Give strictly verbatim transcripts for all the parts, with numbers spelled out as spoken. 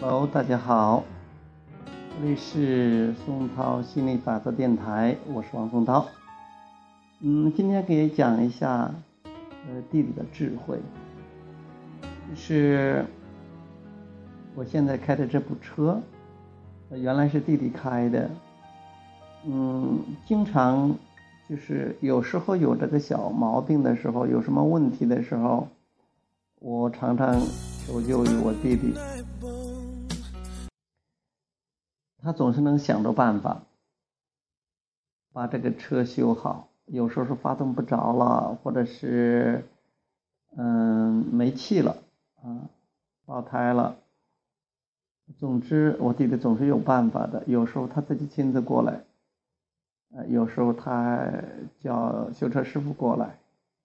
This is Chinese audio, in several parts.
Hello， 大家好，这里是松涛心理法则电台，我是王松涛。嗯，今天给你讲一下，呃，弟弟的智慧，就是我现在开的这部车，呃、原来是弟弟开的，嗯，经常就是有时候有这个小毛病的时候，有什么问题的时候，我常常求救于我弟弟。他总是能想着办法把这个车修好，有时候是发动不着了，或者是嗯没气了啊，爆胎了。总之我弟弟总是有办法的，有时候他自己亲自过来，呃有时候他叫修车师傅过来，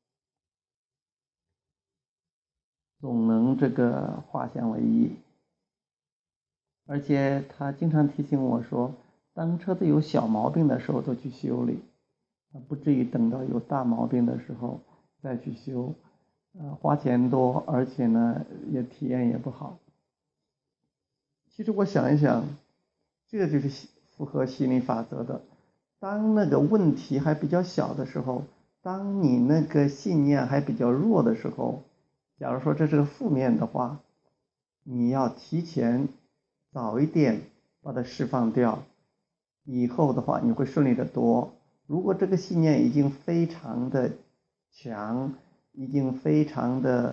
总能这个化险为夷。而且他经常提醒我说，当车子有小毛病的时候都去修理，不至于等到有大毛病的时候再去修，呃，花钱多，而且呢也体验也不好。其实我想一想，这就是符合心理法则的。当那个问题还比较小的时候，当你那个信念还比较弱的时候，假如说这是个负面的话，你要提前早一点把它释放掉，以后的话你会顺利的多。如果这个信念已经非常的强，已经非常的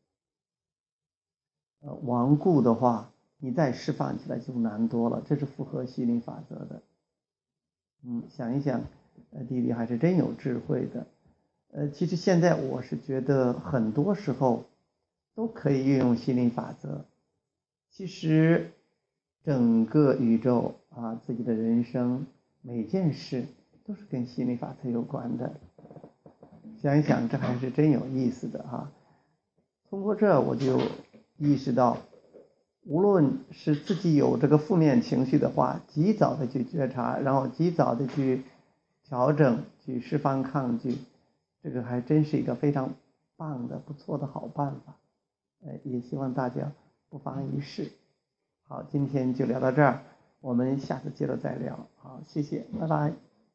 呃顽固的话，你再释放起来就难多了，这是符合心理法则的。嗯，想一想，呃，弟弟还是真有智慧的。呃，其实现在我是觉得很多时候都可以运用心理法则。其实整个宇宙啊，自己的人生每件事都是跟心理法则有关的。想一想，这还是真有意思的哈。通过这我就意识到，无论是自己有这个负面情绪的话，及早的去觉察，然后及早的去调整，去释放抗拒，这个还真是一个非常棒的不错的好办法。呃，也希望大家不妨一试。好，今天就聊到这儿，我们下次接着再聊。好，谢谢，拜拜。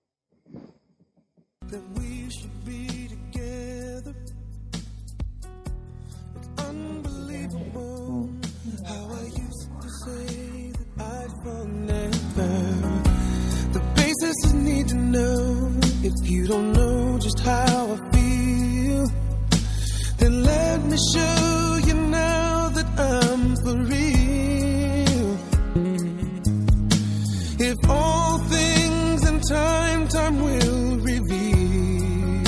If all things in time, time will reveal.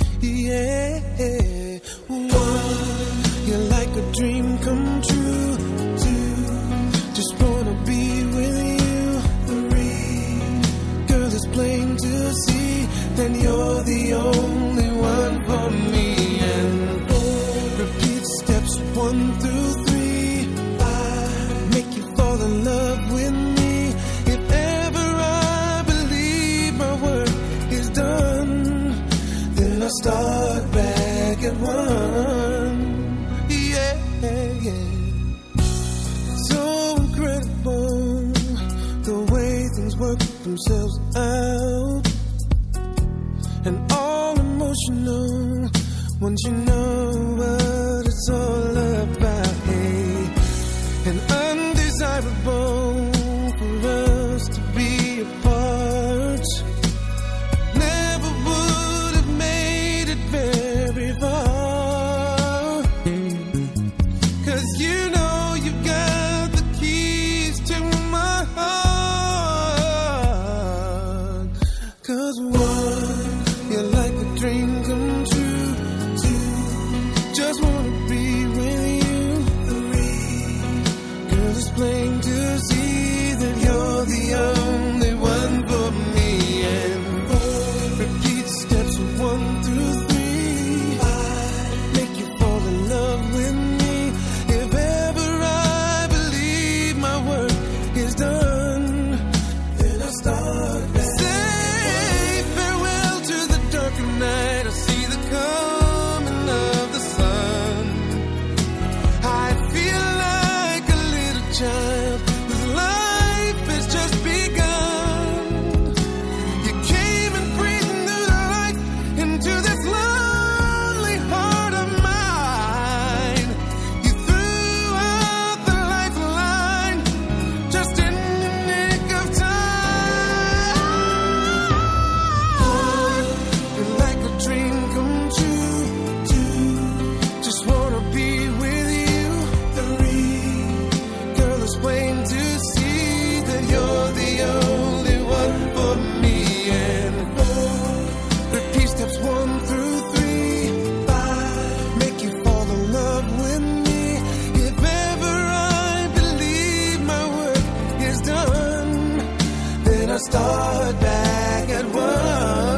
Yeah. One, you're like a dream come true. Two, just wanna be with you. Three, girl, it's plain to see that you're the only one for me. And four, repeat steps one through three. Five, make you fall in love with me. Start back at one. Yeah, yeah. So incredible the way things work themselves out, and all emotional once you know what it's all about. Hey, and undesirable for us to be apart. Never would have made very far, 'cause you know you've got the keys to my heart. 'Cause one, you're like a dream come true. Two, just wanna be with you. Three, girl, it's plain to see start back at one.